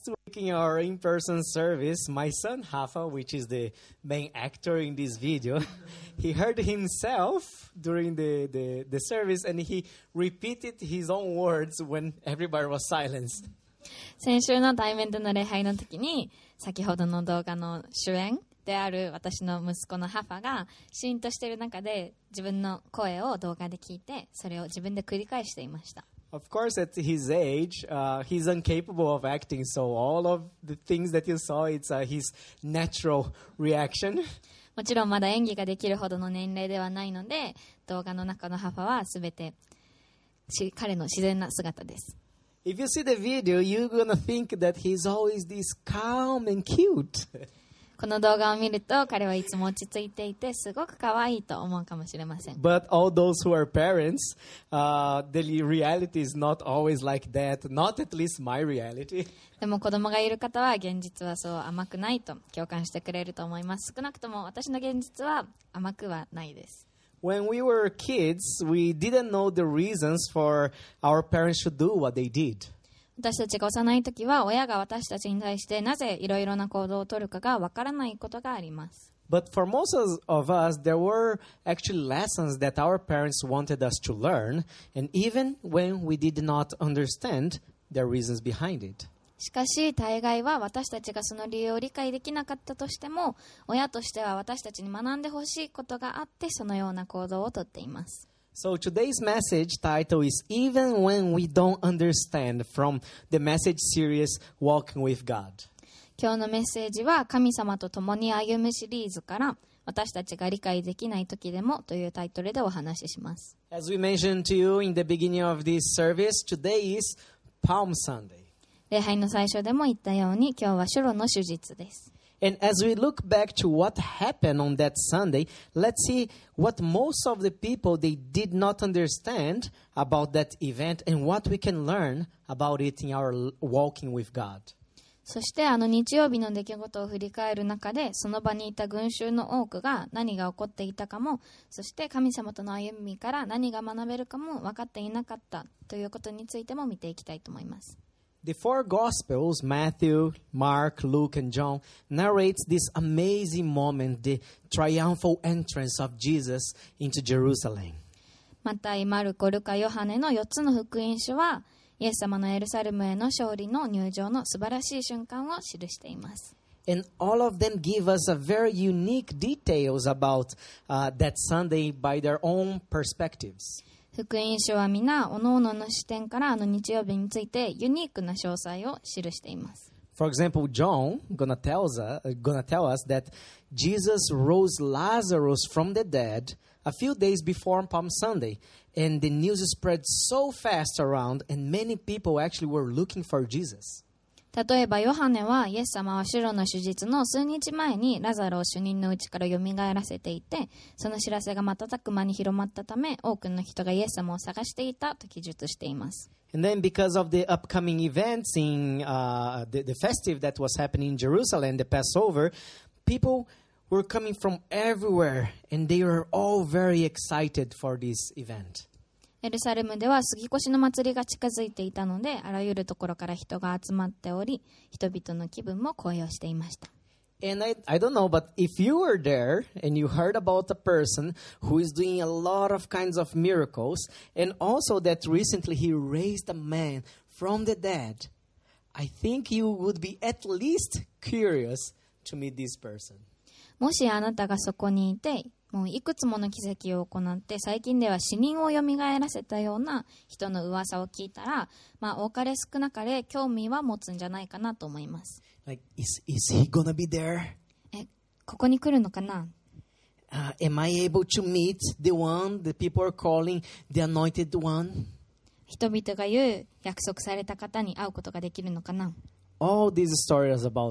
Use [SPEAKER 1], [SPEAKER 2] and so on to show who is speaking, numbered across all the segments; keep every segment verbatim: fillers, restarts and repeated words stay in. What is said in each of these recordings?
[SPEAKER 1] Last week in our in-person service, my son Rafa, which is the main actor in this video, he heard himself during the, the, the service and he repeated his own words when everybody was silenced.
[SPEAKER 2] 先週の対面での礼拝の時に、先ほどの動画の主演である私の息子のハファがシーンとしている中で自分の声を動画で聞いて、それを自分で繰り返していました。
[SPEAKER 1] Of course, at his age, uh, he's incapable of acting, so all of the things that you saw, it's uh, his natural reaction.
[SPEAKER 2] もちろんまだ演技ができるほどの年齢ではないので、動画の中のハファはすべて彼の自然な姿です。
[SPEAKER 1] If you see the video, you're gonna think that he's always this calm and cute.
[SPEAKER 2] この動画を見ると彼はいつも落ち着いていてすごく可愛いと思うかもしれません。
[SPEAKER 1] But all those who are parents, uh, the reality is not always like that. Not at least my reality.
[SPEAKER 2] でも子供がいる方は現実はそう甘くないと共感してくれると思います。少なくとも私の現実は甘くはないです。
[SPEAKER 1] When we were kids, we didn't know the reasons for our parents to do what they did.
[SPEAKER 2] 私たちが幼い時は親が私たちに対してなぜいろいろな行動を取るかがわからないことがあります。
[SPEAKER 1] But for most of us, there were actually lessons that our parents wanted us to learn, and even when we did not understand the reasons behind it.
[SPEAKER 2] しかし大概は私たちがその理由を理解できなかったとしても、親としては私たちに学んでほしいことがあってそのような行動をとっています。
[SPEAKER 1] So today's message title is Even When We Don't Understand, from the message series Walking with God.
[SPEAKER 2] 今日のメッセージは神様と共に歩むシリーズから私たちが理解できない時でもというタイトルでお話しします。
[SPEAKER 1] As we mentioned to you in the beginning of this service, today is Palm Sunday.
[SPEAKER 2] 礼拝の最初でも言ったように今日は主路の手術です。
[SPEAKER 1] And as we look back to what happened on that Sunday, let's see what most of the people, they did not understand about that event and what we can learn about it in our walking with God.
[SPEAKER 2] そしてあの日曜日の出来事を振り返る中で、その場にいた群衆の多くが何が起こっていたかも、そして神様との歩みから何が学べるかも分かっていなかったということについても見ていきたいと思います。
[SPEAKER 1] The four Gospels, Matthew, Mark, Luke, and John, narrates this amazing moment, the triumphal entrance of Jesus into Jerusalem.
[SPEAKER 2] マタイ、マルコ、ルカ、ヨハネのよっつの福音書は、イエス様のエルサレムへの勝利の入場の素晴らしい瞬間を記しています。
[SPEAKER 1] And all of them give us a very unique details about uh, that Sunday by their own perspectives.
[SPEAKER 2] 福音書は皆おのおのの視点からあの日曜日についてユニークな詳細を記しています。
[SPEAKER 1] For example, John gonna tells us, gonna tell us that Jesus rose Lazarus from the dead a few days before Palm Sunday, and the news spread so fast around, and many people actually were looking for Jesus.
[SPEAKER 2] 例えばヨハネはイエス様は主路の手術の数日前にラザロを死人のうちから蘇らせていて、その知らせが瞬く間に広まったため多くの人がイエス様を探していたと記述しています。
[SPEAKER 1] And then because of the upcoming events in uh, the, the festive that was happening in Jerusalem, the Passover, people were coming from everywhere and they were all very excited for this event.
[SPEAKER 2] エルサレムでは杉越の祭りが近づいていたので、あらゆるところから人が集まっており、人々の気分も高揚していました。
[SPEAKER 1] And I, I don't know, but if you were there and you heard about a person who is doing a lot of kinds of miracles, and also that recently he raised a man from the dead, I think you would be at least curious to meet this person.
[SPEAKER 2] もしあなたがそこにいて、もういくつもの奇跡を行って最近では死人を蘇らせたような人の噂を聞いたら、まあ多かれ少なかれ興味は持つんじゃないかなと思います。
[SPEAKER 1] Like, is, is he gonna be there?
[SPEAKER 2] え、ここに来るのかな?
[SPEAKER 1] Uh, am I able to meet the one that people are calling the anointed one?
[SPEAKER 2] 人々が言う約束された方に会うことができるのかな?
[SPEAKER 1] All these stories about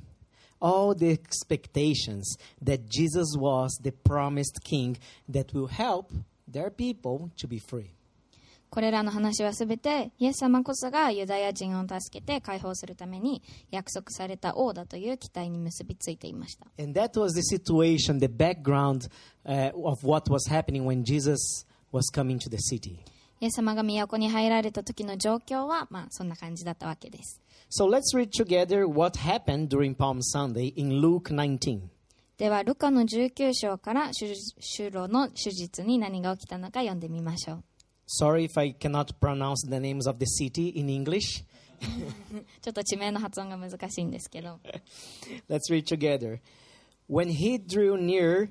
[SPEAKER 1] him.All the expectations that Jesus was the promised king that will help their people to be free.
[SPEAKER 2] これらの話はすべてイエス様こそがユダヤ人を助けて解放するために約束された王だという期待に結びついていました。
[SPEAKER 1] And that was the situation, the background uh, of what was happening when Jesus was coming to the city.
[SPEAKER 2] イエス様が都に入られた時の状況は、まあ、そんな感じだったわけです。
[SPEAKER 1] So let's read together what happened during Palm Sunday in Luke nineteen.
[SPEAKER 2] では、ルカのじゅうきゅう章から主路の手術に何が起きたのか読んでみましょう。
[SPEAKER 1] Sorry if I cannot pronounce the names of the city in English.
[SPEAKER 2] ちょっと地名の発音が難しいんですけど。
[SPEAKER 1] Let's read together. When he drew near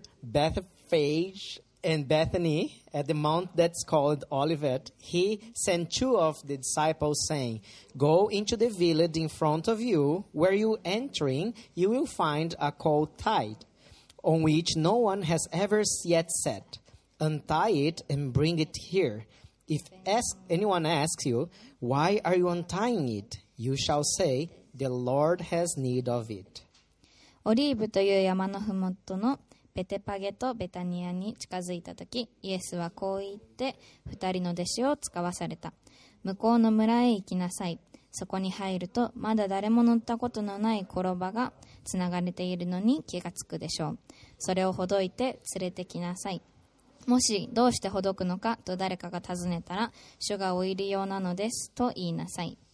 [SPEAKER 1] Bethphage and Bethany at the mount that's called Olivet, he sent two of the disciples, saying, Go into the village in front of you. Where you entering, you will find a colt tied, on which no one has ever yet sat. Untie it and bring it here. If ask, anyone asks you, Why are you untying it? You shall say, The Lord has need of it.
[SPEAKER 2] オリーブという山のふもとのベテパゲとベタニアに近づいたとき、イエスはこう言って二人の弟子を使わされた。向こうの村へ行きなさい。そこに入ると、まだ誰も乗ったことのない転ばがつながれているのに気がつくでしょう。それをほどいて連れてきなさい。もしどうしてほどくのかと誰かが尋ねたら、主がお入り用なのですと言いなさい。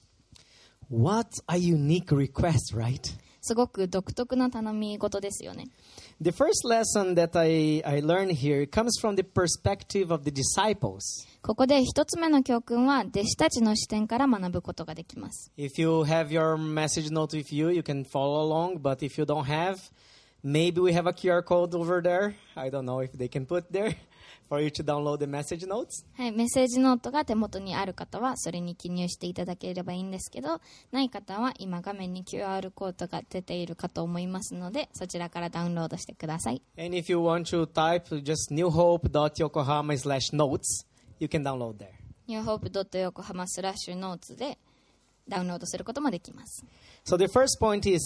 [SPEAKER 1] What a unique request, right?
[SPEAKER 2] すごく独特な頼み事ですよね。
[SPEAKER 1] The first lesson that I, I learned here comes from the perspective of the disciples.
[SPEAKER 2] ここで一つ目の教訓は弟子たちの視点から学ぶことができます。
[SPEAKER 1] If you have your message note with you, you can follow along. But if you don't have, maybe we have a Q R code over there. I don't know if they can put there for you to download the message notes.
[SPEAKER 2] はい、メッセージノートが手元にある方はそれに記入していただければいいんですけど、ない方は今画面に キューアール コードが出ているかと思いますので、そちらからダウンロードしてください。
[SPEAKER 1] And if you want to type just newhope.yokohama slash notes, you can download there.
[SPEAKER 2] ニューホープドットヨコハマスラッシュノーツでダウンロードすることもできます。
[SPEAKER 1] So the first point is,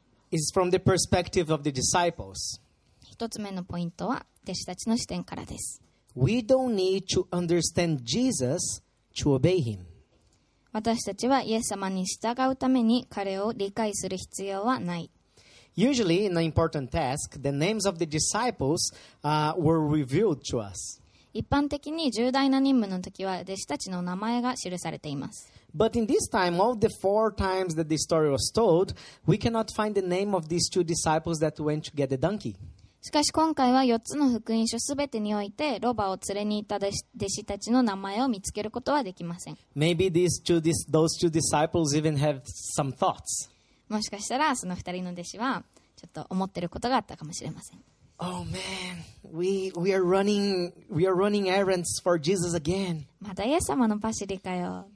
[SPEAKER 1] is from the perspective of the disciples.
[SPEAKER 2] 一つ目のポイントは弟子たちの視点からです。
[SPEAKER 1] We don't need to understand Jesus to obey him.
[SPEAKER 2] 私たちはイエス様に従うために彼を理解する必要はない。
[SPEAKER 1] Usually, in an important task, the names of the disciples uh, were revealed to us.
[SPEAKER 2] 一般的に重大な任務の時は弟子たちの名前が記されています。
[SPEAKER 1] But in this time, all the four times that the story was told, we cannot find the name of these two disciples that went to get the donkey.
[SPEAKER 2] しかし今回はよっつの福音書すべてにおいてロバを連れに行った弟子たちの名前を見つけることはできません。
[SPEAKER 1] Maybe these two, this, those two disciples even have some thoughts.
[SPEAKER 2] もしかしたらその二人の弟子はちょっと思っていることがあったかもしれません。
[SPEAKER 1] Oh man, we we are running we are running errands for Jesus again.
[SPEAKER 2] またイエス様のパシリかよ。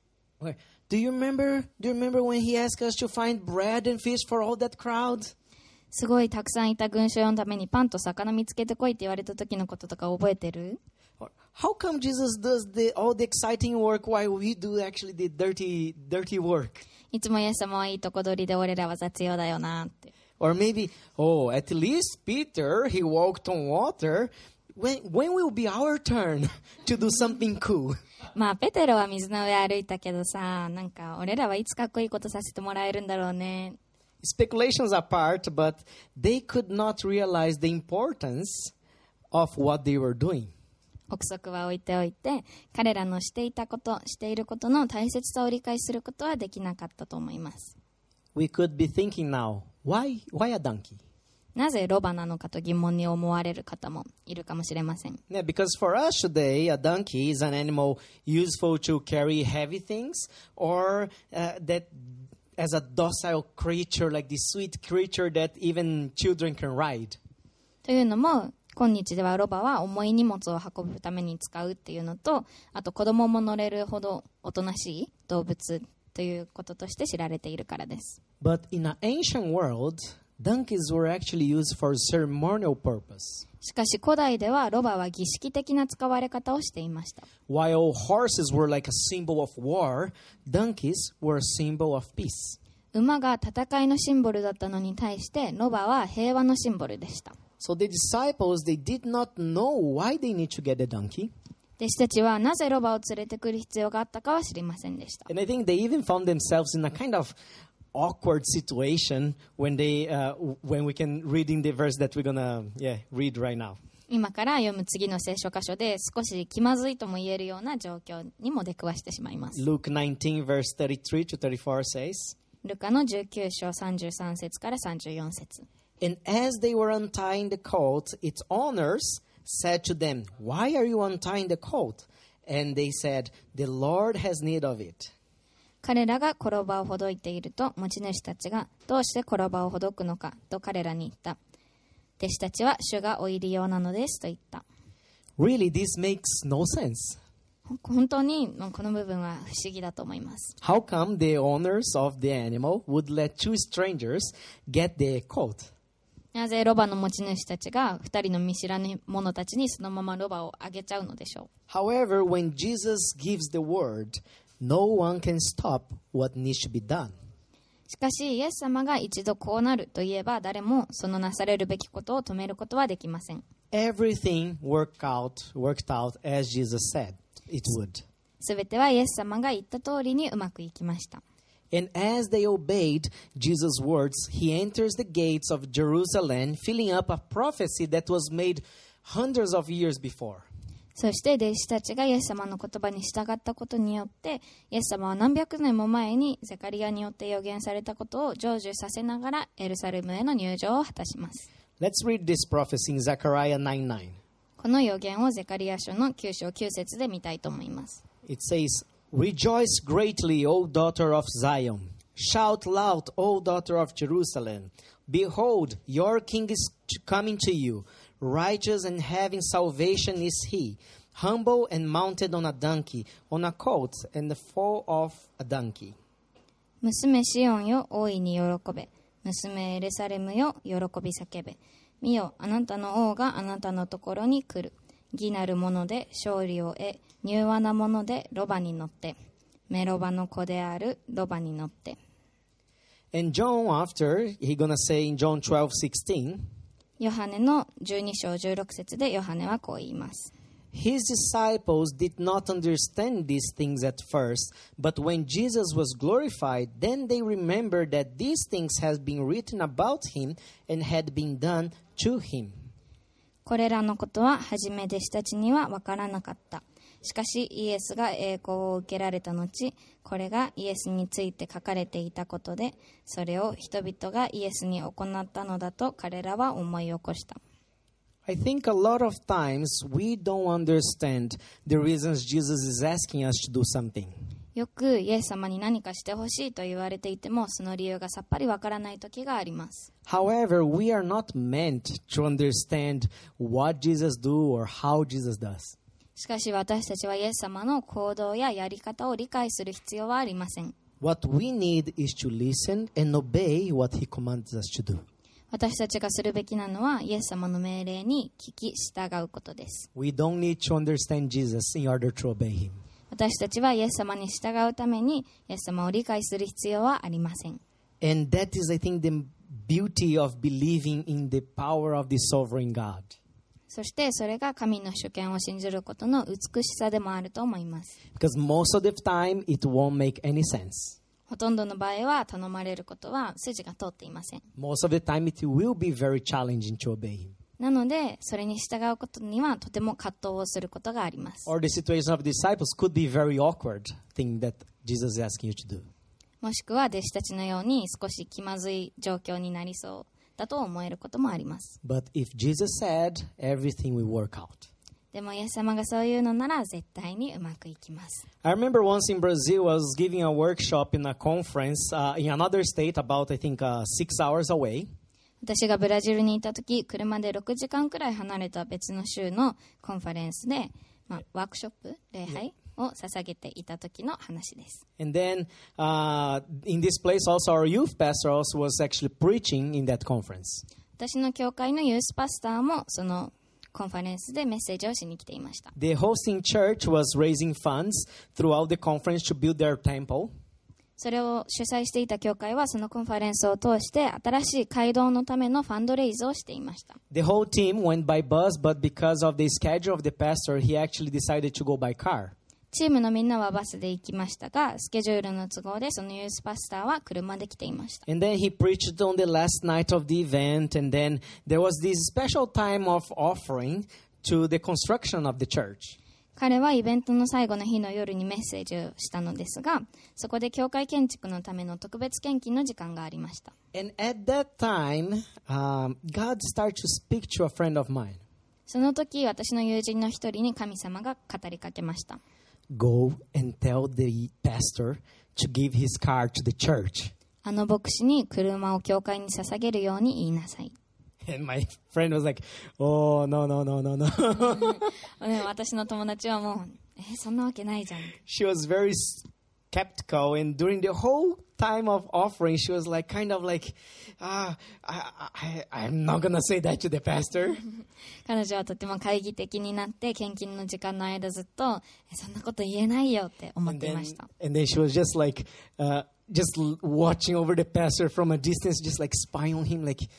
[SPEAKER 1] Do you remember? Do you remember when he asked us to find bread and fish for all that crowd?
[SPEAKER 2] すごいたくさんいた群衆のためにパンと魚見つけてこいって言われた時のこととか覚えてる？
[SPEAKER 1] How come Jesus does the, all the exciting work while we do actually the dirty, dirty work?
[SPEAKER 2] いつもイエス様はいいとこ取りで俺らは雑用だよなって。
[SPEAKER 1] Or maybe, oh, at least Peter, he walked on water. When, when will be our turn to do something cool?
[SPEAKER 2] まあペテロは水の上歩いたけどさ、なんか俺らはいつかっこいいことさせてもらえるんだろうね。
[SPEAKER 1] Speculations apart, but they could not realize the importance of what they were doing.
[SPEAKER 2] 憶測は置いておいて、彼らのしていたこと、していることの大切さを理解することはできなかったと思います。
[SPEAKER 1] We could be thinking now, why, why a donkey?
[SPEAKER 2] なぜロバなのかと疑問に思われる方もいるかもしれません。
[SPEAKER 1] Yeah, because for us today, a donkey is an animal useful to carry heavy things, or uh, that as a docile creature, like this sweet creature that even children can ride.
[SPEAKER 2] というのも、今日ではロバは重い荷物を運ぶために使うっていうのと、あと子供も乗れるほどおとなしい動物ということとして知られているからです。
[SPEAKER 1] But in an ancient world, donkeys were actually used for ceremonial purpose.
[SPEAKER 2] しかし古代ではロバは儀式的な使われ方をしていました。
[SPEAKER 1] While horses were like a symbol of war, donkeys were a symbol of peace.
[SPEAKER 2] 馬が戦いのシンボルだったのに対してロバは平和のシンボルでした。
[SPEAKER 1] So the disciples, they did not know why they need to get a donkey.
[SPEAKER 2] 弟子たちはなぜロバを連れてくる必要があったかは知りませんでした。
[SPEAKER 1] And I think they even found themselves in a kind of awkward situation when they uh, when we can read in the verse that we're gonna yeah read right now.
[SPEAKER 2] 今から読む次の聖書箇所で少し気まずいとも言えるような状況にも出くわしてしまいます。
[SPEAKER 1] Luke nineteen verse thirty-three to thirty-four says,
[SPEAKER 2] ルカのじゅうきゅう章さんじゅうさん節からさんじゅうよん節。
[SPEAKER 1] And as they were untying the coat, its owners said to them, Why are you untying the coat? And they said, The Lord has need of it.
[SPEAKER 2] 彼らが転ばをほどいていると持ち主たちがどうして転ばをほどくのかと彼らに言った。弟子たちは主がお入り用なのですと言った。
[SPEAKER 1] Really, this makes no sense.
[SPEAKER 2] 本当にこの部分は不思議だと思います。
[SPEAKER 1] How come the owners of the animal would let two strangers get the coat?
[SPEAKER 2] なぜロバの持ち主たちが二人の見知らぬ者たちにそのままロバをあげちゃうのでしょう。
[SPEAKER 1] However, when Jesus gives the word, no one can stop what needs to be done.
[SPEAKER 2] しかしイエス様が一度こうなると言えば誰もそのなされるべきことを止めることはできません。
[SPEAKER 1] Everything worked out, worked out as Jesus said it would.
[SPEAKER 2] すべてはイエス様が言った通りにうまくいきました。
[SPEAKER 1] And as they obeyed Jesus' words, he enters the gates of Jerusalem, filling up a prophecy that was made hundreds of years before.
[SPEAKER 2] そして弟子たちがイエス様の言葉に従ったことによってイエス様は何百年も前にゼカリアによって予言されたことを成就させながらエルサレムへの入場を果たします。
[SPEAKER 1] Let's read this prophecy in Zechariah nine nine.
[SPEAKER 2] この予言をゼカリア書のきゅう章きゅう節で見たいと思います。
[SPEAKER 1] It says, Rejoice greatly, O daughter of Zion. Shout loud, O daughter of Jerusalem. Behold, your king is coming to you. Righteous and having salvation is he. Humble and mounted on a donkey, on a colt, and the foal of a donkey.
[SPEAKER 2] 娘シオンよ大いに喜べ。娘エルサレムよ喜び叫べ。見よ、あなたの王があなたのところに来る。義なるもので勝利を得、柔和なものでロバに乗って。メロバの子であるロバに乗って。
[SPEAKER 1] And John, after, he gonna say in John twelve sixteen,
[SPEAKER 2] ヨハネのじゅうに章じゅうろく節でヨハネはこう言います。
[SPEAKER 1] His disciples did not understand these things at first, but when Jesus was glorified, then they remembered that these things had been written about him and had been done to him.
[SPEAKER 2] これらのことは初め弟子たちには分からなかった。しかしイエスが栄光を受けられた後、これがイエスについて書かれていたことで、それを人々がイエスに行ったのだと彼らは思い起こした。
[SPEAKER 1] I think a lot of times we don't understand the reasons Jesus is asking us to do something.
[SPEAKER 2] よくイエス様に何かしてほしいと言われていても、その理由がさっぱりわからない時があります。
[SPEAKER 1] However, we are not meant to understand what Jesus do or how Jesus does.
[SPEAKER 2] しかし私たちはイエス様の行動ややり方を理解する必要はありません。
[SPEAKER 1] What we need is to listen and obey what he commands us to do.
[SPEAKER 2] 私たちがするべきなのはイエス様の命令に聞き従うことです。
[SPEAKER 1] We don't need to understand Jesus in order to obey him.
[SPEAKER 2] 私たちはイエス様に従うためにイエス様を理解する必要はありません。
[SPEAKER 1] And that is, I think, the beauty of believing in the power of the sovereign God.
[SPEAKER 2] そしてそれが神の主権を信じることの美しさでもあると思います。
[SPEAKER 1] Because most of the time it won't make any sense.
[SPEAKER 2] ほとんどの場合は頼まれることは筋が通っていません。
[SPEAKER 1] Most of the time it will be very challenging to obey him.
[SPEAKER 2] なのでそれに従うことにはとても葛藤をすることがあります。
[SPEAKER 1] Or the situation of disciples could be very awkward thing that Jesus is asking you to do.
[SPEAKER 2] もしくは弟子たちのように少し気まずい状況になりそうだと思えることもあります。
[SPEAKER 1] But if Jesus said, everything will work out.
[SPEAKER 2] でもイエス様がそういうのなら絶対にうまくいきます。
[SPEAKER 1] I remember once in Brazil, I was giving a workshop in a conference uh, in another state about, I think, uh, six hours away.
[SPEAKER 2] 私がブラジルにいた時、車でろくじかんくらい離れた別の州のコンファレンスで、まあ、ワークショップ、礼拝を捧げていた時の話です。
[SPEAKER 1] And then uh, in this place also our youth pastor also was actually preaching in that conference.
[SPEAKER 2] 私の教会のユースパスターもそのコンファレンスでメッセージをしに来ていました。
[SPEAKER 1] The hosting church was raising funds throughout the conference to build their temple.
[SPEAKER 2] それを主催していた教会はそのコンファレンスを通して新しい街道のためのファンドレイズをしていました。
[SPEAKER 1] The whole team went by bus, but because of the schedule of the pastor, he actually decided to go by car.
[SPEAKER 2] チームのみんなはバスで行きましたが、スケジュールの都合でそのユースパスターは車で来ていました。
[SPEAKER 1] And then he preached on the last night of the event, and then there was this special time of offering to the construction of the church.
[SPEAKER 2] 彼はイベントの最後の日の夜にメッセージをしたのですが、そこで教会建築のための特別献金の時間がありました。
[SPEAKER 1] And at that time, um, God started to speak to a friend of mine.
[SPEAKER 2] その時、私の友人の一人に神様が語りかけました。
[SPEAKER 1] Go and tell the pastor to give his car to the church.
[SPEAKER 2] あの牧師に車を教会に捧げるように言いなさい。
[SPEAKER 1] And my friend was like, oh, no, no, no, no, no.
[SPEAKER 2] でも私の友達はもう、え、そんなわけないじゃん。
[SPEAKER 1] She was very skeptical, and during the whole time of offering, she was like, kind of like, ah, I, I, I'm not gonna say that to the pastor.
[SPEAKER 2] 彼女はとても懐疑的になって、献金の時間の間ずっと、え、そんなこと言えないよって思っていました。
[SPEAKER 1] And then, and then she was just like, uh, just watching over the pastor from a distance, just like spying on him, like,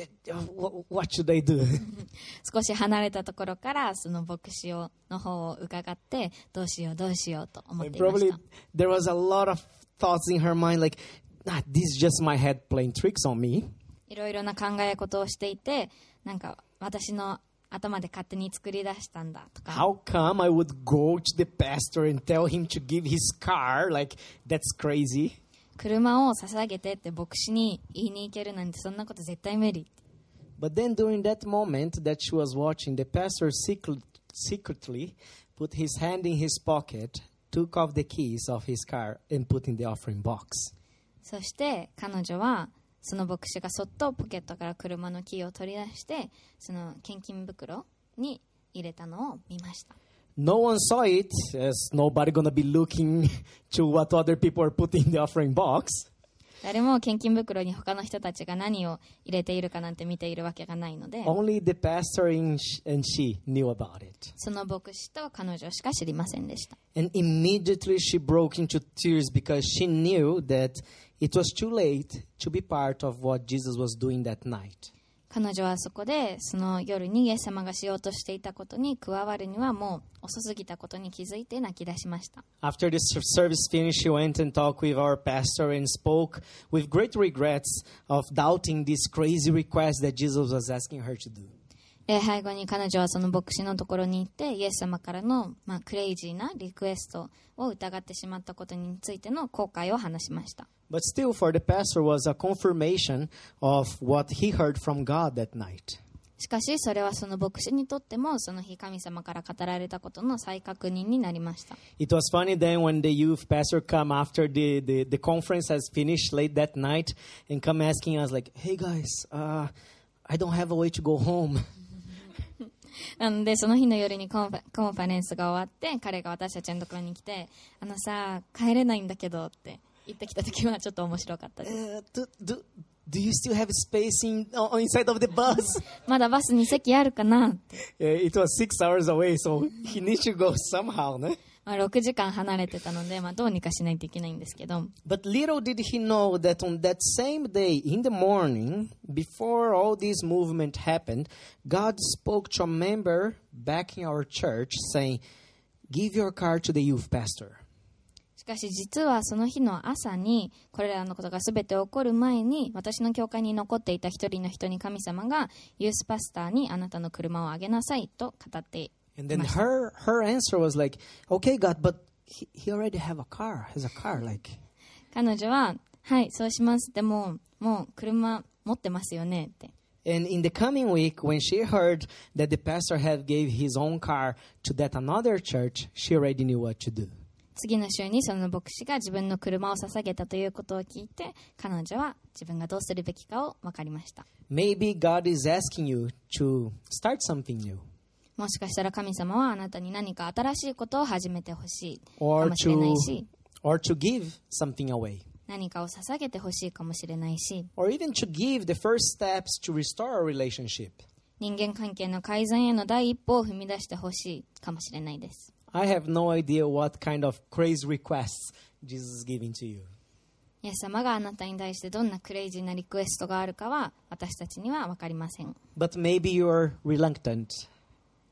[SPEAKER 1] what should I do?
[SPEAKER 2] 少し離れたところからその牧師をの方を伺ってどうしようどうしようと思っていました。
[SPEAKER 1] Probably there was a lot of thoughts in her mind like, ah, this is just my head playing tricks on me.
[SPEAKER 2] いろいろな考え事をしていて、なんか私の頭で勝手に作り出したんだとか。
[SPEAKER 1] How come I would go to the pastor and tell him to give his car? Like, that's crazy.
[SPEAKER 2] 車を捧げてって牧師に言いに行けるなんてそんなこと絶対無理。
[SPEAKER 1] But then during that moment that she was watching, the pastor secret, secretly put his hand in his pocket, took off the keys of his car and put in the offering box.
[SPEAKER 2] そして彼女はその牧師がそっとポケットから車のキーを取り出してその献金袋に入れたのを見ました。
[SPEAKER 1] No one saw it, as nobody gonna be looking to what other people are putting in the offering box.
[SPEAKER 2] 誰も献金袋に他の人たちが何を入れているかなんて見ているわけがないので、
[SPEAKER 1] Only the pastor and she knew about it.
[SPEAKER 2] その牧師と彼女しか知りませんでした。
[SPEAKER 1] And immediately she broke into tears because she knew that it was too late to be part of what Jesus was doing that night.
[SPEAKER 2] 彼女はそこでその夜にイエス様がしようとしていたことに加わるにはもう遅すぎたことに気づいて泣き出しました。
[SPEAKER 1] After the service finished, she went and talked with our pastor and spoke with great regrets of doubting this crazy request that Jesus was asking her to do.
[SPEAKER 2] 礼拝後に彼女はその牧師のところに行ってイエス様からの、まあ、クレイジーなリクエストを疑ってしまったことについての後悔を話しました。
[SPEAKER 1] But still, for the pastor was a confirmation of what he heard from God that night.
[SPEAKER 2] しかしそれはその牧師にとってもその日神様から語られたことの再確認になりました。
[SPEAKER 1] It was funny then when the youth pastor come after the, the, the conference has finished late that night and come asking us like, hey guys, uh, I don't have a way to go home.
[SPEAKER 2] なのでその日の夜にコンファ、コンファレンスが終わって彼が私たちのところに来て、あのさ帰れないんだけどって言ってきた時はちょっと面白かったです。
[SPEAKER 1] Uh, do, do, do you still have space in, uh, inside of the bus?
[SPEAKER 2] まだバスに席あるかなって。
[SPEAKER 1] uh, it was six hours away, so he needs to go somehow, no?
[SPEAKER 2] まあ、ろくじかん離れてたので、まあ、どうにかしないといけないんですけど。
[SPEAKER 1] But little did he know that on that same day, in the morning, before all this movement happened, God spoke to a member back in our church saying, give your car to the youth pastor.
[SPEAKER 2] しかし実はその日の朝にこれらのことが全て起こる前に私の教会に残っていた一人の人に神様がユースパスターにあなたの車をあげなさいと語っていました。
[SPEAKER 1] And then her her answer was like, okay, God, but he, he already have a car, has a car, like.
[SPEAKER 2] 彼女は、はい、そうします。でも、もう車持ってますよねって。
[SPEAKER 1] And in the coming week, when she heard that the pastor had gave his own car to that another church, she already knew what to do.
[SPEAKER 2] 次の週にその牧師が自分の車を捧げたということを聞いて、彼女は自分がどうするべきかを分かりました。
[SPEAKER 1] Maybe God is asking you to start something new.
[SPEAKER 2] もしかしたら神様はあなたに何か新しいことを始めてほしいか
[SPEAKER 1] Or
[SPEAKER 2] もしれない
[SPEAKER 1] to,
[SPEAKER 2] し、
[SPEAKER 1] or to give something away.
[SPEAKER 2] 何かを捧げてほしいかもしれないし、
[SPEAKER 1] Or even to give the first steps to restore a relationship.
[SPEAKER 2] 人間関係の改善への第一歩を踏み出してほしいかもしれないです。
[SPEAKER 1] I have no idea what kind of crazy requests Jesus is giving to you.
[SPEAKER 2] イエス様があなたに対してどんなクレイジーなリクエストがあるかは私たちには分かりません。
[SPEAKER 1] But maybe you're reluctant.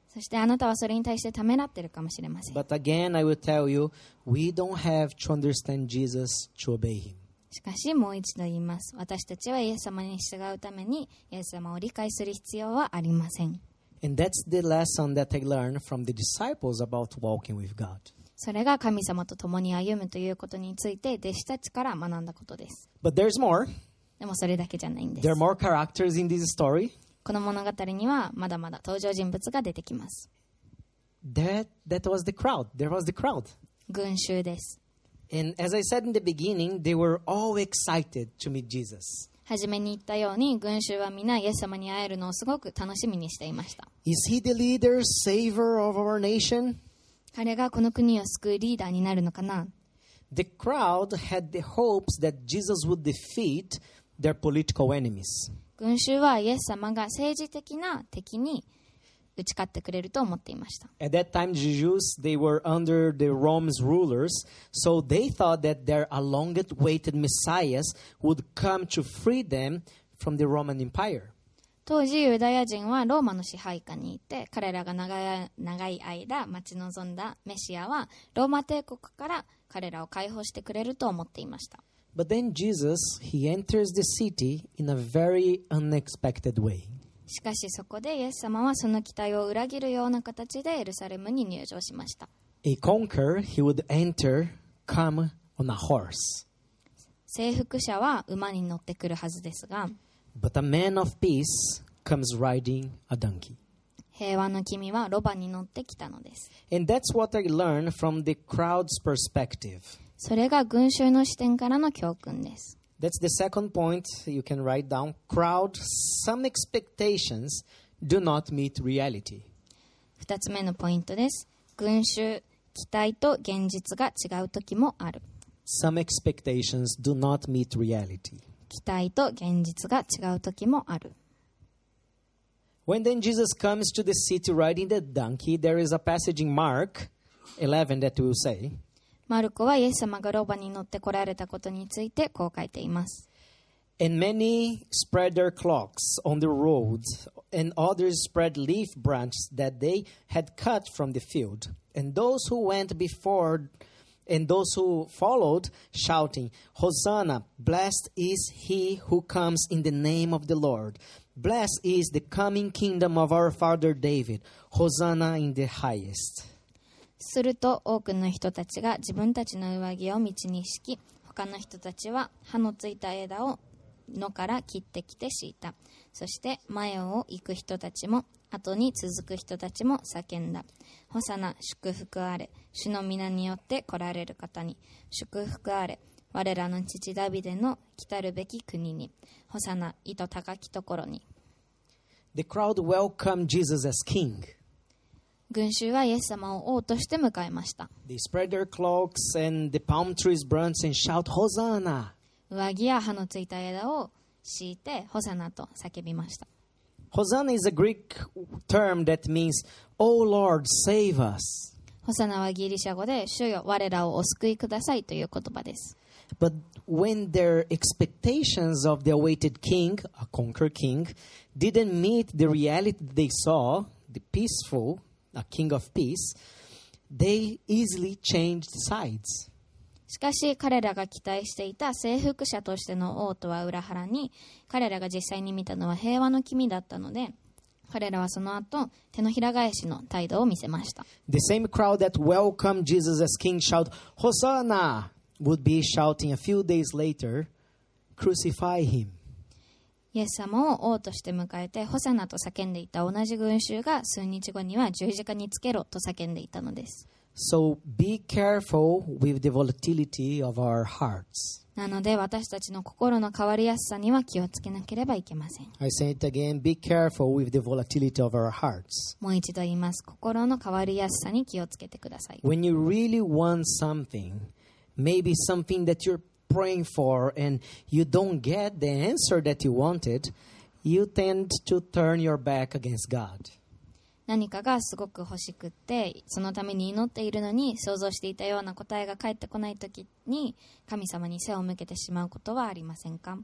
[SPEAKER 2] そしてあなたはそれに対してためらっているかもしれません。
[SPEAKER 1] But again, I will tell you, we don't have to understand Jesus to obey him.
[SPEAKER 2] しかしもう一度言います。私たちはイエス様に従うためにイエス様を理解する必要はありません。
[SPEAKER 1] And that's the lesson that I learned from the disciples about walking with God.
[SPEAKER 2] それが神様と共に歩むということについて弟子たちから学んだことです。
[SPEAKER 1] But there's more.
[SPEAKER 2] でもそれだけじゃないんです。
[SPEAKER 1] There are more characters in this story.
[SPEAKER 2] この物語にはまだまだ登場人物が出てきます。
[SPEAKER 1] That, that was the crowd. There was the crowd.
[SPEAKER 2] 群衆です。
[SPEAKER 1] And as I said in the beginning, they were all excited to meet Jesus.
[SPEAKER 2] 初めに言ったように群衆は皆イエス様に会えるのをすごく楽しみにしていました。
[SPEAKER 1] Is he the leader, savior of our nation?
[SPEAKER 2] 彼がこの国を救うリーダーになるのかな。
[SPEAKER 1] The crowd had the hopes that Jesus would defeat their political enemies.
[SPEAKER 2] 群衆はイエス様が政治的な敵に打ち勝ってくれると思っていました。
[SPEAKER 1] At that time, the Jews, they were under the Rome's rulers, so they thought that their long-awaited Messiah would come to free them from the Roman Empire.
[SPEAKER 2] 当時ユダヤ人はローマの支配下にいて、彼らが長い、長い間待ち望んだメシアはローマ帝国から彼らを解放してくれると思っていました。
[SPEAKER 1] But then Jesus, he enters the city in a very unexpected way.
[SPEAKER 2] しかしそこでイエス様はその期待を裏切るような形でエルサレムに入場しました。
[SPEAKER 1] A conqueror, he would enter, come on a horse.
[SPEAKER 2] 征服者は馬に乗ってくるはずですが、
[SPEAKER 1] But a man of peace comes riding a donkey.
[SPEAKER 2] 平和の君はロバに乗ってきたのです。
[SPEAKER 1] And that's what I learned from the crowd's perspective.
[SPEAKER 2] それが群衆の視点からの教訓です。
[SPEAKER 1] That's the second point you can write down. Crowd, some expectations do not meet reality.
[SPEAKER 2] 二つ目のポイントです。群衆、期待と現実が違う時もある。
[SPEAKER 1] Some expectations do not meet reality.
[SPEAKER 2] 期待と現実が違う時もある。
[SPEAKER 1] When then Jesus comes to the city riding the donkey, there is a passage in Mark eleven that will say,
[SPEAKER 2] マルコはイエス様がロバに乗って来られたことについてこう書いています。
[SPEAKER 1] And many spread their cloaks on the road, and others spread leaf branches that they had cut from the field. And those who went before and those who followed, shouting, Hosanna, blessed is he who comes in the name of the Lord. Blessed is the coming kingdom of our father David. Hosanna in the highest.
[SPEAKER 2] すると多くの人たちが自分たちの上着を道に敷き、他の人たちは葉のついた枝を野から切ってきて敷いた。そして前を行く人たちも後に続く人たちも叫んだ。ホサナ、祝福あれ。主の皆によって来られる方に祝福あれ。我らの父ダビデの来たるべき国に。ホサナ、糸高きところに。
[SPEAKER 1] The crowd welcomed Jesus as king.
[SPEAKER 2] 群衆はイエス様を王として迎えました。
[SPEAKER 1] They spread their cloaks and the palm trees branch and shout, Hosanna.
[SPEAKER 2] 上着や葉のついた枝を敷いてホサナと叫びました。
[SPEAKER 1] Hosanna is a Greek term that means, Oh Lord, save us.
[SPEAKER 2] ホサナはギリシャ語で主よ我らをお救いくださいという言葉です。
[SPEAKER 1] But when their expectations of the awaited king, a conqueror king, didn't meet the reality they saw, the peaceful, a king of peace, they easily changed sides.
[SPEAKER 2] しかし彼らが期待していた征服者としての王とは裏腹に、彼らが実際に見たのは平和の君だったので、彼らはその後手のひら返しの態度を見せました。
[SPEAKER 1] The same crowd that welcomed Jesus as king shout, Hosanna, would be shouting a few days later, Crucify him.
[SPEAKER 2] イエス様を王として迎えてホサナと叫んでいた同じ群衆が数日後には十字架につけろと叫んでいたのです。
[SPEAKER 1] So be careful with the volatility of our hearts.
[SPEAKER 2] なので私たちの心の変わりやすさには気をつけなければいけません。
[SPEAKER 1] I say it again, be careful with the volatility of our hearts.
[SPEAKER 2] もう一度言います。心の変わりやすさに気をつけてください。
[SPEAKER 1] When you really want something, maybe something that you're praying for and you don't get the answer that you wanted, you tend to turn your back against God.
[SPEAKER 2] 何かがすごく欲しくってそのために祈っているのに想像していたような答えが返ってこないときに神様に背を向けてしまうことはありませんか？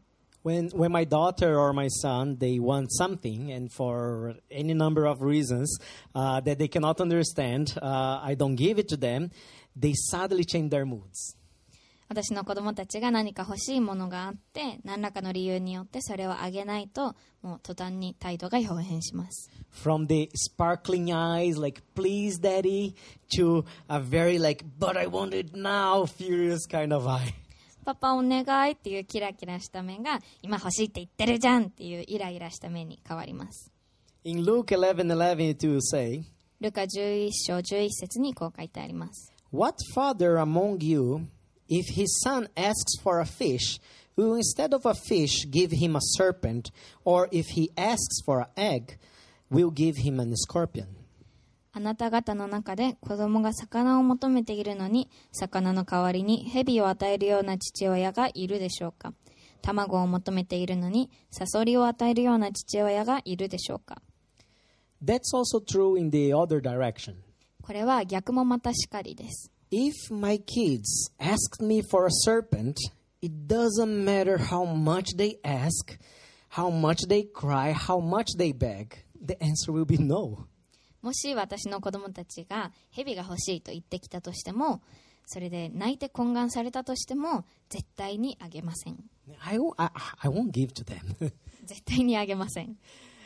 [SPEAKER 1] When when my daughter or my son, they want something, and for any number of reasons uh, that they cannot understand, uh, I don't give it to them, they suddenly change their moods.
[SPEAKER 2] 私の子供たちが何か欲しいものがあって、何らかの理由によってそれをあげないと、もう途端に態度が表変します。
[SPEAKER 1] From the sparkling eyes, like, please, daddy, to a very, like, but I want it now, furious kind of eye.
[SPEAKER 2] パパお願いっていうキラキラした目が、今欲しいって言ってるじゃんっていうイライラした目に変わります。
[SPEAKER 1] In Luke eleven eleven it will say,
[SPEAKER 2] ルカじゅういっ章じゅういち節にこう書いてあります。
[SPEAKER 1] What father among you, if his son asks for a fish, will instead of a fish give him a serpent, or if he asks for an egg, will give him a scorpion?
[SPEAKER 2] あなた方の中で子供が魚を求めているのに、魚の代わりに蛇を与えるような父親がいるでしょうか。卵を求めているのに、サソリを与えるような父親がいるでしょうか。
[SPEAKER 1] That's also true in the other direction.
[SPEAKER 2] これは逆もまたしかりです。
[SPEAKER 1] If my kids asked me for a serpent, it doesn't matter how much they ask, how much they cry, how much they beg. The answer will be no.
[SPEAKER 2] もし私の子供たちが蛇が欲しいと言ってきたとしても、それで泣いて懇願されたとしても、絶対にあげません。
[SPEAKER 1] I, I, I won't give to them.
[SPEAKER 2] 絶対にあげません。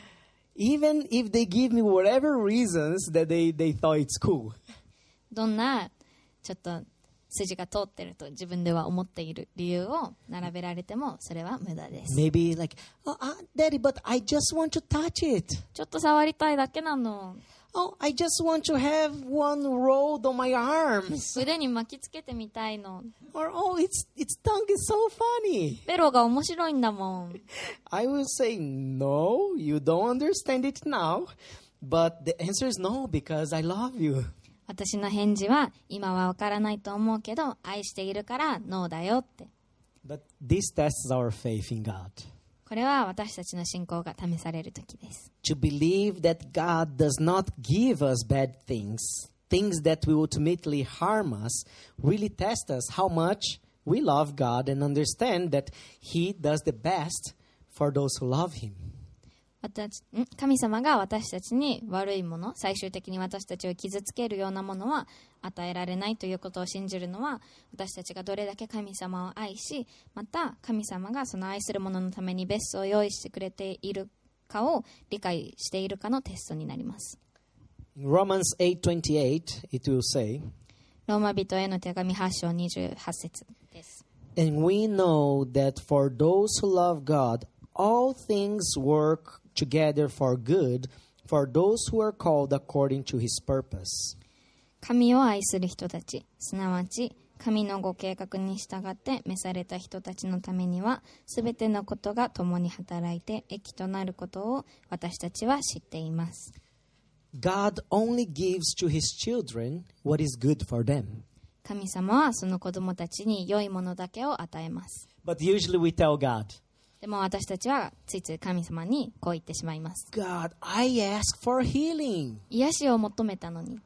[SPEAKER 1] Even if they give me whatever reasons that they, they thought it's cool.
[SPEAKER 2] どんなちょっと筋が通ってると自分では思っている理由を並べられてもそれは無駄です。
[SPEAKER 1] Maybe like, oh, uh, Daddy, but I just want to touch it.
[SPEAKER 2] ちょっと触りたいだけなの。
[SPEAKER 1] Oh, I just want to have one rolled on my arms.
[SPEAKER 2] 腕に巻きつけてみたいの。
[SPEAKER 1] Or, oh, its, its tongue is so funny.
[SPEAKER 2] ベロが面白いんだもん。
[SPEAKER 1] I will say, no, you don't understand it now. But the answer is no, because I love you.
[SPEAKER 2] 私の返事は、今はわからないと思うけど、愛しているからノーだよって。
[SPEAKER 1] But this tests our faith in God.
[SPEAKER 2] これは私たちの信仰が試される時です。
[SPEAKER 1] To believe that God does not give us bad things, things that will ultimately harm us, really test us how much we love God and understand that He does the best for those who love Him.
[SPEAKER 2] 私ん神様が私たちに悪いもの、最終的に私たちを傷つけるようなものは与えられないということを信じるのは、私たちがどれだけ神様を愛し、また神様がその愛する者のためにベストを用意してくれているかを理解しているかのテストになります。
[SPEAKER 1] In Romans eight twenty-eight, it will say,
[SPEAKER 2] ローマ人への手紙はち章にじゅうはち節です。
[SPEAKER 1] And we know that for those who love God, all things work together for good, for those who are called according to His purpose.
[SPEAKER 2] 神を愛する人たち、すなわち神のご計画に従って召された人たちのためには、すべてのことが共に働いて益となることを私たちは知っています。
[SPEAKER 1] God only gives to His children what is good for them.
[SPEAKER 2] 神様はその子供たちに良いものだけを与えます。
[SPEAKER 1] But usually we tell God,
[SPEAKER 2] でも私たちはついつい神様にこう言ってしまいます。
[SPEAKER 1] God, I ask for healing.
[SPEAKER 2] 癒しを求めたのに。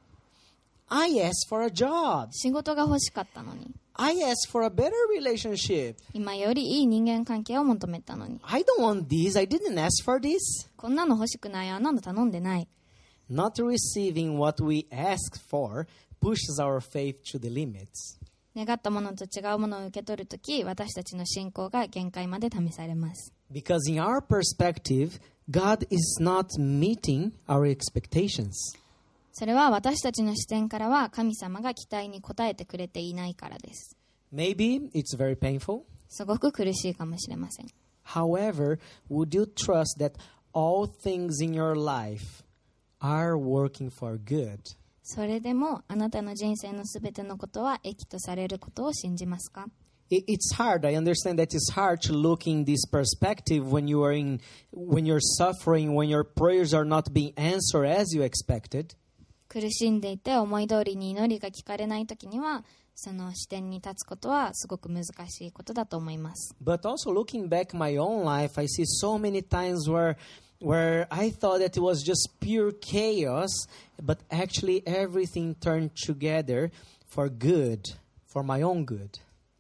[SPEAKER 1] I ask for a job.
[SPEAKER 2] 仕事が欲しかったのに。
[SPEAKER 1] I ask for a better relationship.
[SPEAKER 2] 今よりいい人間関係を求めたのに。
[SPEAKER 1] I don't want this. I didn't ask for this.
[SPEAKER 2] こんなの欲しくない。あんなの頼んでない。
[SPEAKER 1] Not receiving what we ask for pushes our faith to the limits.
[SPEAKER 2] 願ったものと違うものを受け取るとき、私たちの信仰が限界まで試されます。
[SPEAKER 1] Because in our perspective, God is not meeting our expectations.
[SPEAKER 2] それは私たちの視点からは神様が期待に応えてくれていないからです。
[SPEAKER 1] Maybe it's very painful.
[SPEAKER 2] すごく苦しいかもしれません。
[SPEAKER 1] However, would you trust that all things in your life are working for good?
[SPEAKER 2] それでもあなたの人生のすべてのことは益とされることを信じますか？
[SPEAKER 1] It's hard. I understand that it's hard to look in this perspective when you are in, when you're suffering, when your prayers are not being answered as you expected.
[SPEAKER 2] 苦しんでいて思い通りに祈りが聞かれないときには、その視点に立つことはすごく難しいことだと思います。
[SPEAKER 1] But also looking back my own life, I see so many times where where I thought that it was just pure chaos, but actually everything turned together for good, for my own good.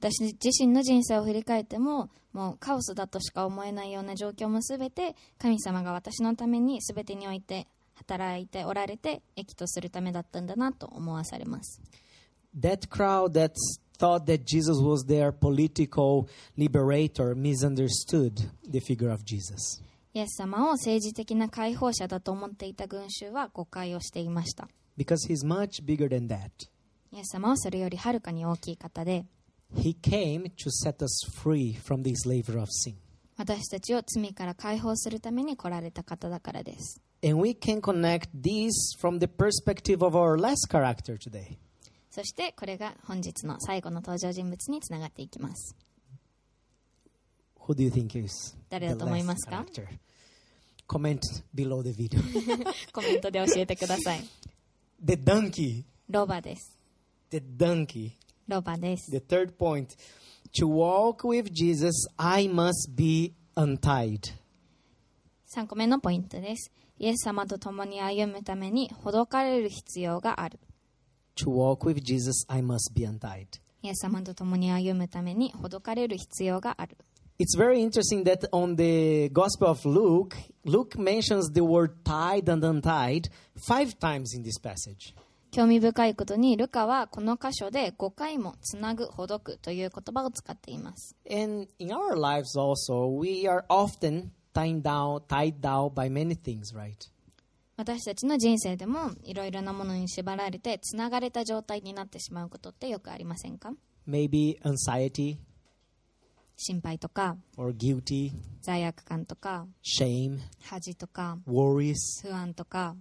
[SPEAKER 2] 私自身の人生を振り返っても、もうカオスだとしか思えないような状況もすべて神様が私のためにすべてにおいて働いておられて益とするためだったんだなと思わされます。
[SPEAKER 1] That crowd that thought that Jesus was their political liberator misunderstood the figure of Jesus.
[SPEAKER 2] イエス様を政治的な解放者だと思っていた群衆は誤解をしていました。
[SPEAKER 1] Because he's much bigger than that.
[SPEAKER 2] イエス様はそれよりはるかに大きい方で、
[SPEAKER 1] He came to set us free from the slavery of sin.
[SPEAKER 2] 私たちを罪から解放するために来られた方だからです。
[SPEAKER 1] And we can connect this from the perspective of our last character today.
[SPEAKER 2] そしてこれが本日の最後の登場人物につながっていきます。
[SPEAKER 1] Who do you think is
[SPEAKER 2] 誰だと思いますか？
[SPEAKER 1] character? Comment below the video.
[SPEAKER 2] コメントで教えてください。
[SPEAKER 1] The donkey.
[SPEAKER 2] ロバです。
[SPEAKER 1] The donkey.
[SPEAKER 2] ロバです。
[SPEAKER 1] The third point. To walk with Jesus, I must be untied.
[SPEAKER 2] さんこめのポイントです。イエス様と共に歩むためにほどかれる必要がある。
[SPEAKER 1] To walk with Jesus, I must be untied.
[SPEAKER 2] イエス様と共に歩むためにほどかれる必要がある。
[SPEAKER 1] It's very interesting that on the Gospel of Luke, Luke mentions the word tied and untied five times in this passage.
[SPEAKER 2] 興味深いことにルカはこの箇所でごかいもつなぐ、ほどくという言葉を使っています。
[SPEAKER 1] And in our lives also, we are often tied down, tied down by many things, right?
[SPEAKER 2] 私たちの人生でもいろいろなものに縛られてつながれた状態になってしまうことってよくありませんか？
[SPEAKER 1] Maybe anxiety
[SPEAKER 2] 心配とか
[SPEAKER 1] or guilty,
[SPEAKER 2] 罪悪感とか
[SPEAKER 1] shame,
[SPEAKER 2] 恥とか
[SPEAKER 1] worries.
[SPEAKER 2] 不安とか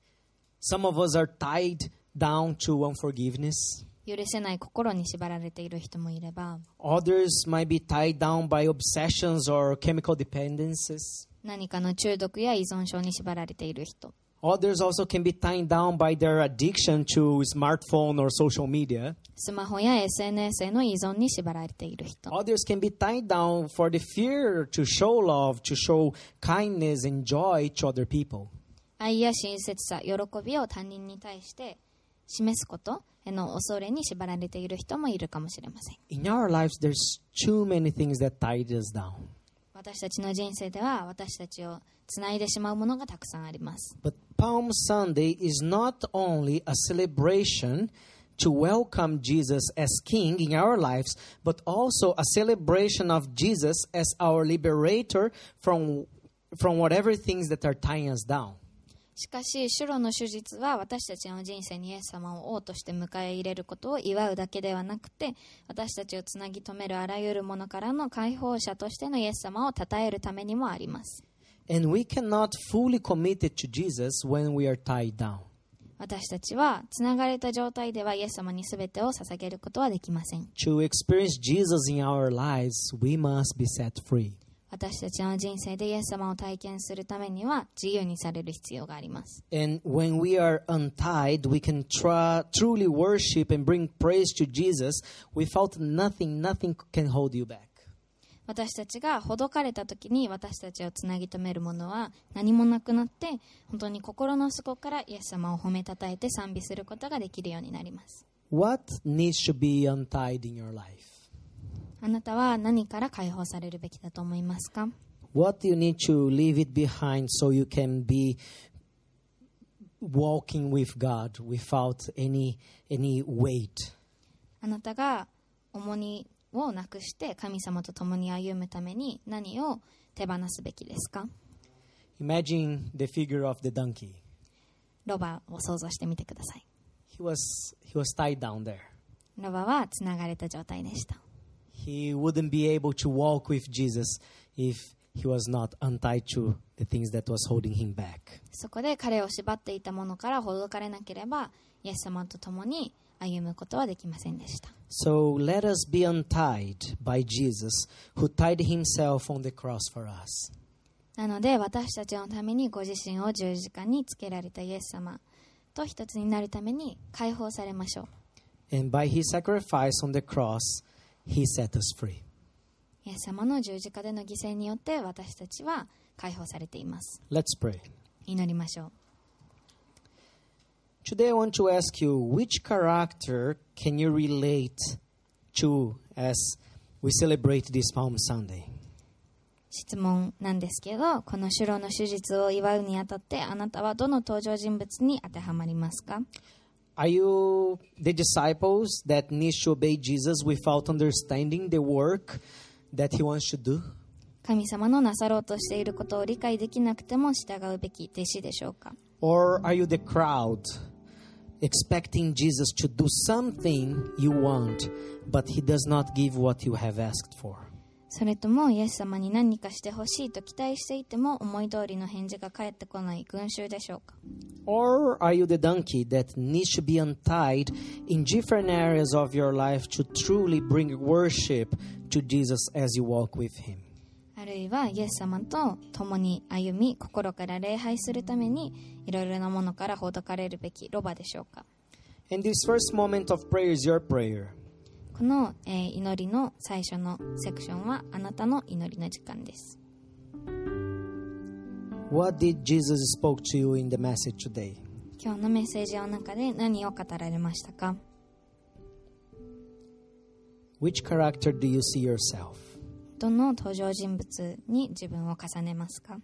[SPEAKER 1] Some of us are tied down to unforgiveness.
[SPEAKER 2] 許せない心に縛られている人もいれば、
[SPEAKER 1] Others might be tied down by obsessions or chemical dependencies.
[SPEAKER 2] 何かの中毒や依存症に縛られている人、
[SPEAKER 1] Others also can be tied down by their addiction to smartphone or social media.
[SPEAKER 2] スマホや エスエヌエス への依存に縛られている人、
[SPEAKER 1] Others can be tied down for the fear to show love, to show kindness and joy to other people.
[SPEAKER 2] 愛や親切さ、喜びを他人に対して示すことへの恐れに縛られている人もいるかもしれません。
[SPEAKER 1] In our lives, there's too many things that tie us down.
[SPEAKER 2] 私たちの人生では私たちをつないでしまうものがたくさんあります。
[SPEAKER 1] But Palm Sunday is not only a celebration to welcome Jesus as King in our lives, but also a celebration of Jesus as our liberator from, from whatever things that are tying us down.
[SPEAKER 2] しかし、主路の手術は私たちの人生にイエス様を王として迎え入れることを祝うだけではなくて、私たちをつなぎ止めるあらゆるものからの解放者としてのイエス様を称えるためにもあります。
[SPEAKER 1] And we cannot fully commit it to Jesus when we are tied down.
[SPEAKER 2] 私たちはつながれた状態ではイエス様に全てを捧げることはできません。
[SPEAKER 1] To experience Jesus in our lives, we must be set free.
[SPEAKER 2] 私たちの人生でイエス様を体験するためには自由にされる必要があります。
[SPEAKER 1] And when we are untied, we can try, truly worship and bring praise to Jesus without nothing, nothing can hold you back.
[SPEAKER 2] 私たちがほどかれた時に私たちをつなぎ止めるものは何もなくなって、本当に心の底からイエス様を褒めたたえて賛美することができるようになります。
[SPEAKER 1] What needs to be untied in your life?
[SPEAKER 2] あなたは何から解放されるべきだと思いますか？
[SPEAKER 1] What do you need to leave it behind so you can be walking with God without any, any weight?
[SPEAKER 2] あなたが重荷をなくして神様と共に歩むために何を手放すべきですか？
[SPEAKER 1] Imagine the figure of the donkey.
[SPEAKER 2] ロバを想像してみてください。
[SPEAKER 1] He was, he was tied down there.
[SPEAKER 2] ロバはつながれた状態でした。
[SPEAKER 1] He wouldn't be able to walk with Jesus if he was not untied to the things that was holding him back.
[SPEAKER 2] そこで彼を縛っていたものからほどかれなければイエス様と共に歩むことはできませんでした。
[SPEAKER 1] So let us be untied by Jesus, who tied himself on the cross for us.
[SPEAKER 2] なので私たちのためにご自身を十字架につけられたイエス様と一つになるために解放されましょう。
[SPEAKER 1] And by his sacrifice on the cross, he set us free.
[SPEAKER 2] イエス様の十字架での犠牲によって私たちは解放されています。
[SPEAKER 1] Let's pray.
[SPEAKER 2] 祈りましょう。
[SPEAKER 1] Today I want to ask you, which character can you relate chew as we celebrate this Palm Sunday?
[SPEAKER 2] 質問なんですけど、この主労の手術を祝うにあたってあなたはどの登場人物に当てはまりますか？
[SPEAKER 1] Are you the disciples that need to obey Jesus without understanding the work that he wants to do?
[SPEAKER 2] 神様のなさろうとしていることを理解できなくても従うべき弟子でしょうか？
[SPEAKER 1] Or are you the crowd expecting Jesus to do something you want, but he does not give what you have asked for?
[SPEAKER 2] それともイエス様に何かしてほしいと期待していても思い通りの返事が返ってこない群衆でしょうか？
[SPEAKER 1] Or are you the donkey that needs to be untied in different areas of your life to truly bring worship to Jesus as you walk with him?
[SPEAKER 2] あるいはイエス様と共に歩み心から礼拝するためにいろいろなものからほどかれるべきロバでしょうか？
[SPEAKER 1] And this first moment of prayer is your prayer.
[SPEAKER 2] この、えー祈りの最初のセクションはあなたの祈りの時間です。
[SPEAKER 1] What did Jesus spoke to you in the message today?
[SPEAKER 2] 今日のメッセージの中で何を語られましたか？
[SPEAKER 1] Which character do you see yourself?
[SPEAKER 2] どの登場人物に自分を重ねますか？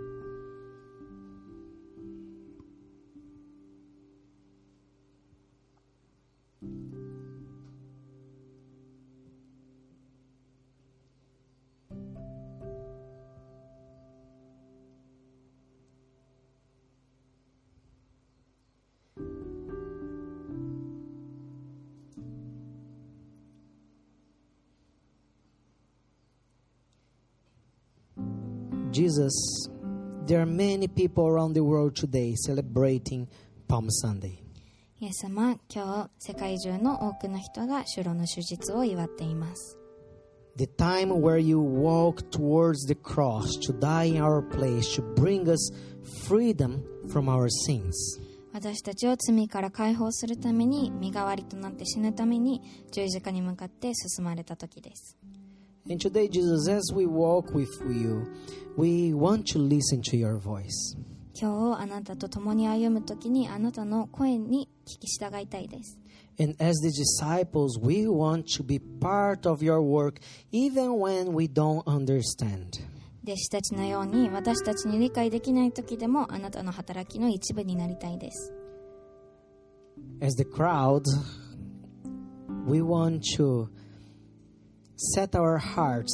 [SPEAKER 1] Jesus, there are many people around the world today celebrating Palm Sunday.
[SPEAKER 2] イエス様、今日世界中の多くの人が主労の手術を祝っています。
[SPEAKER 1] The time where you walk towards the cross to die in our place to bring us freedom from our sins.
[SPEAKER 2] 私たちを罪から解放するために身代わりとなって死ぬために十字架に向かって進まれた時です。
[SPEAKER 1] And today, Jesus, as we walk with you, we want to listen to your voice.
[SPEAKER 2] 今日あなたと共に歩むときにあなたの声に聞き従いたいです。
[SPEAKER 1] And as the disciples, we want to be part of your work even when we don't understand.
[SPEAKER 2] 弟子たちのように私たちに理解できないときでもあなたの働きの一部になりたいです。
[SPEAKER 1] As the crowd, we want to set our hearts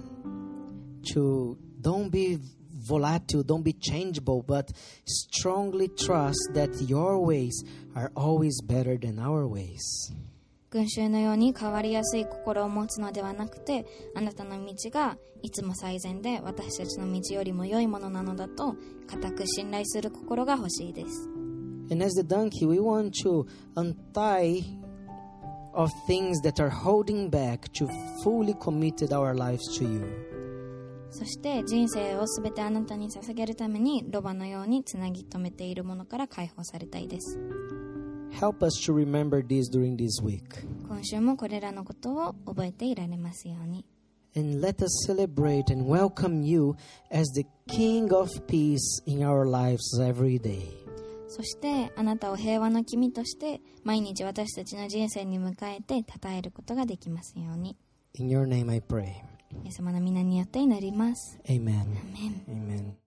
[SPEAKER 1] to don't be volatile, don't be changeable, but strongly trust that your ways are always better than our ways.
[SPEAKER 2] 群衆のように変わりやすい心を持つのではなくて、あなたの道がいつも最善で私たちの道よりも良いものなのだと固く信頼する心が欲しいです。
[SPEAKER 1] And as the donkey, we want to untie of things that are holding back to fully committed our lives to you.
[SPEAKER 2] そして人生をすべてあなたに捧げるためにロバのようにつなぎ止めているものから解放されたいです。
[SPEAKER 1] Help us to remember this during this week.
[SPEAKER 2] 今週もこれらのことを覚えていられますように。
[SPEAKER 1] And let us celebrate and welcome you as the King of Peace in our lives every day.
[SPEAKER 2] そしてあなたを平和の君として毎日私たちの人生に迎えて称えることができますように。
[SPEAKER 1] In your name I pray.
[SPEAKER 2] イエス様の皆によって祈ります。
[SPEAKER 1] Amen.
[SPEAKER 2] Amen.
[SPEAKER 1] Amen.